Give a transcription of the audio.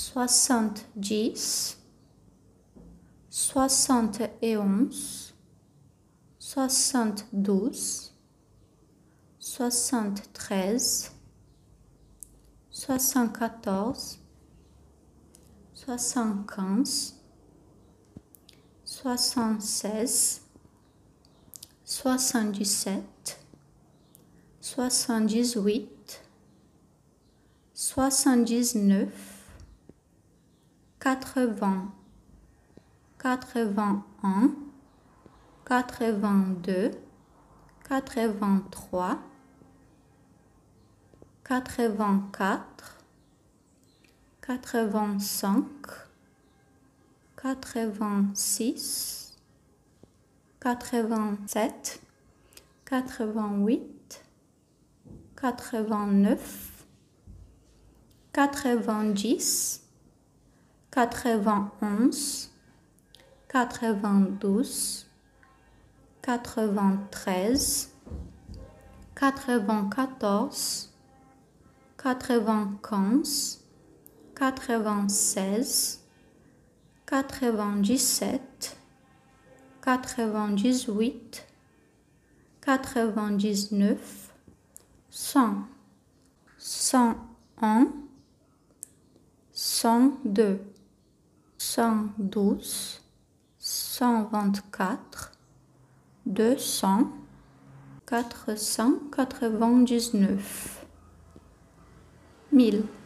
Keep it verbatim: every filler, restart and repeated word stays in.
soixante-dix, soixante et onze, soixante-douze, soixante-treize, soixante-quatorze, soixante-quinze, soixante-seize, soixante-dix-sept, soixante-dix-huit, soixante-dix-neuf, quatre-vingts, quatre-vingt-un, quatre-vingt-deux, quatre-vingt-trois, quatre-vingt-quatre, quatre-vingt-cinq, quatre-vingt-six, quatre-vingt-sept, quatre-vingt-huit, quatre-vingt-neuf, quatre-vingt-dix, quatre-vingt-onze, quatre-vingt-douze, quatre-vingt-treize, quatre-vingt-quatorze, quatre-vingt-quinze, quatre-vingt-seize, quatre-vingt-dix-sept, quatre-vingt-dix-huit, quatre-vingt-dix-neuf, cent, cent un, cent deux, cent douze, cent vingt-quatre, deux cents, quatre cent quatre-vingt-dix-neuf, mille.